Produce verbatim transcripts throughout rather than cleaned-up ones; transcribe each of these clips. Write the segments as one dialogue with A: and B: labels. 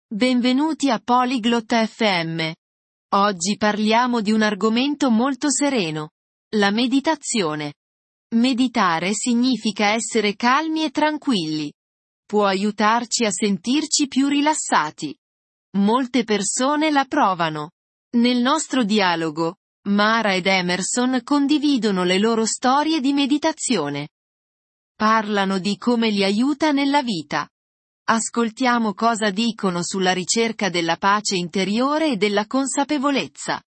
A: Benvenuti a Polyglot F M. Oggi parliamo di un argomento molto sereno. La meditazione. Meditare significa essere calmi e tranquilli. Può aiutarci a sentirci più rilassati. Molte persone la provano. Nel nostro dialogo, Mara ed Emerson condividono le loro storie di meditazione. Parlano di come li aiuta nella vita. Ascoltiamo cosa dicono sulla ricerca della pace interiore e della consapevolezza.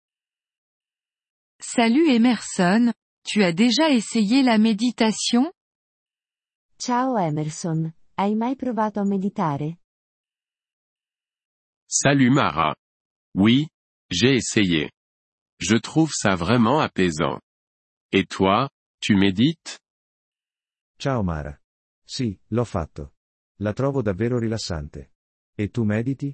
B: Salut Emerson, tu as déjà essayé la méditation?
C: Ciao Emerson, hai mai provato a meditare?
D: Salut Mara. Oui, j'ai essayé. Je trouve ça vraiment apaisant. Et toi, tu médites?
E: Ciao Mara. Sì, l'ho fatto. La trovo davvero rilassante. E tu mediti?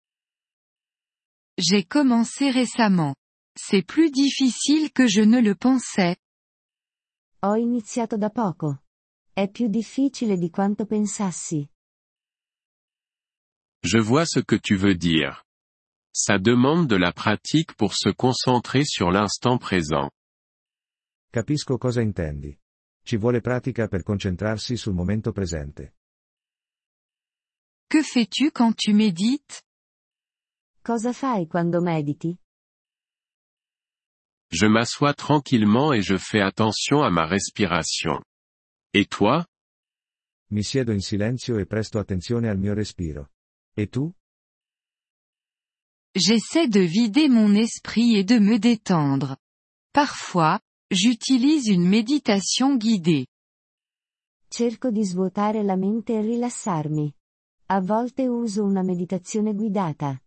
B: J'ai commencé récemment. C'est plus difficile que je ne le pensais.
C: Ho iniziato da poco. È più difficile di quanto pensassi.
D: Je vois ce que tu veux dire. Ça demande de la pratique pour se concentrer sur l'instant présent.
E: Capisco cosa intendi. Ci vuole pratica per concentrarsi sul momento presente.
B: Que fais-tu quand tu médites?
C: Cosa fai quando mediti?
D: Je m'assois tranquillement et je fais attention à ma respiration. Et toi?
E: Mi siedo in silenzio e presto attenzione al mio respiro. E tu?
B: J'essaie de vider mon esprit et de me détendre. Parfois, j'utilise une méditation guidée.
C: Cerco di svuotare la mente e rilassarmi. A volte uso una meditazione guidata.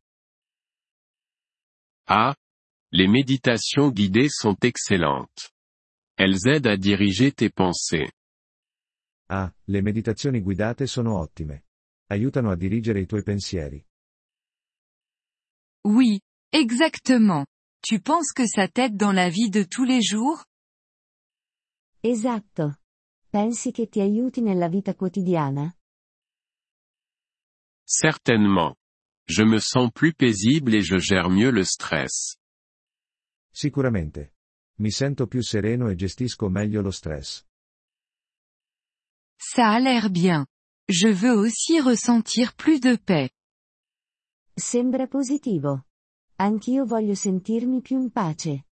D: Ah, les méditations guidées sont excellentes. Elles aident à diriger tes pensées.
E: Ah, le meditazioni guidate sono ottime. Aiutano a dirigere i tuoi pensieri.
B: Oui, exactement. Tu penses que ça t'aide dans la vie de tous les jours?
C: Esatto. Pensi che ti aiuti nella vita quotidiana?
D: Certainement. Je me sens plus paisible et je gère mieux le stress.
E: Sicuramente. Mi sento più sereno e gestisco meglio lo stress.
B: Ça a l'air bien. Je veux aussi ressentir plus de paix.
C: Sembra positivo. Anch'io voglio sentirmi più in pace.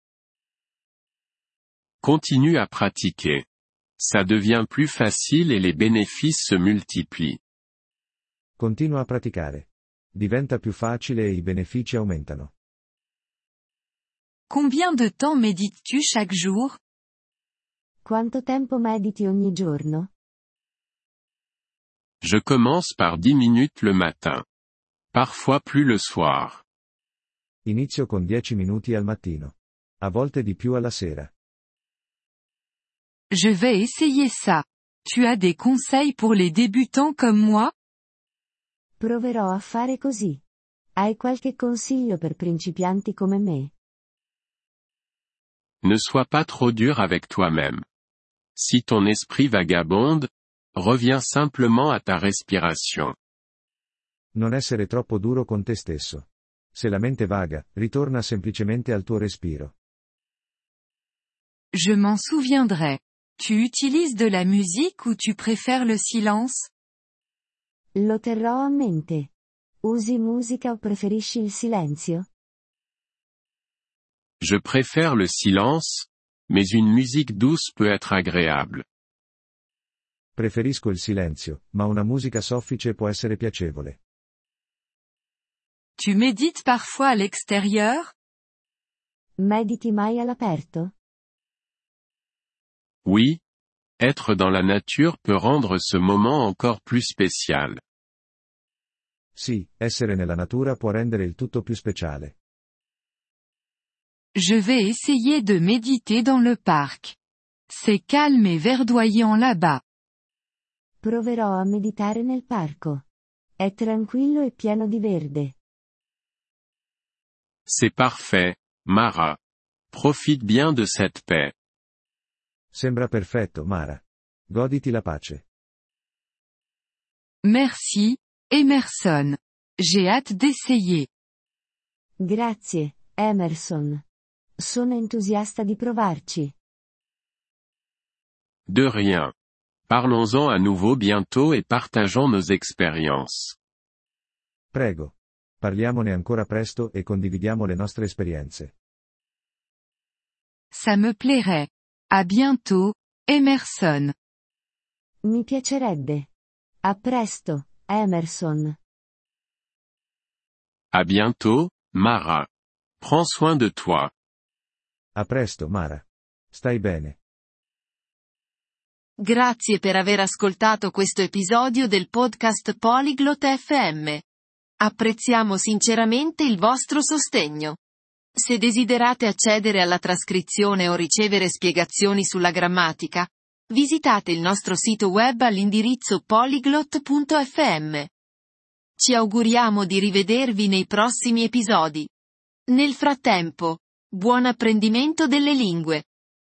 D: Continue à pratiquer. Ça devient plus facile et les bénéfices se multiplient.
E: Continua a praticare. Diventa più facile e i benefici aumentano.
B: Combien de temps médites-tu chaque jour?
C: Quanto tempo mediti ogni giorno?
D: Je commence par dix minutes le matin. Parfois plus le soir.
E: Inizio con dieci minuti al mattino. A volte di più alla sera.
B: Je vais essayer ça. Tu as des conseils pour les débutants comme moi?
C: Proverò a fare così. Hai qualche consiglio per principianti come me?
D: Ne sois pas trop dur avec toi-même. Si ton esprit vagabonde, reviens simplement à ta respiration.
E: Non essere troppo duro con te stesso. Se la mente vaga, ritorna semplicemente al tuo respiro.
B: Je m'en souviendrai. Tu utilises de la musique ou tu préfères le silence?
C: Lo terrò a mente. Usi musica o preferisci il silenzio?
D: Je préfère le silence, mais une musique douce peut être agréable.
E: Preferisco il silenzio, ma una musica soffice può essere piacevole.
B: Tu médites parfois à l'extérieur?
C: Mediti mai all'aperto?
D: Oui. Être dans la nature peut rendre ce moment encore plus spécial.
E: Sì, essere nella natura può rendere il tutto più speciale.
B: Je vais essayer de méditer dans le parc. C'est calme et verdoyant là-bas.
C: Proverò a meditare nel parco. È tranquillo e pieno di verde.
D: C'est parfait, Mara. Profite bien de cette paix.
E: Sembra perfetto, Mara. Goditi la pace.
B: Merci, Emerson. J'ai hâte d'essayer.
C: Grazie, Emerson. Sono entusiasta di provarci.
D: De rien. Parlons-en à nouveau bientôt et partageons nos expériences.
E: Prego. Parliamone ancora presto e condividiamo le nostre esperienze.
B: Ça me plairait. À bientôt, Emerson.
C: Mi piacerebbe. A presto, Emerson.
D: À bientôt, Mara. Prends soin de toi.
E: A presto, Mara. Stai bene.
A: Grazie per aver ascoltato questo episodio del podcast Polyglot F M. Apprezziamo sinceramente il vostro sostegno. Se desiderate accedere alla trascrizione o ricevere spiegazioni sulla grammatica, visitate il nostro sito web all'indirizzo polyglot punto f m. Ci auguriamo di rivedervi nei prossimi episodi. Nel frattempo, buon apprendimento delle lingue.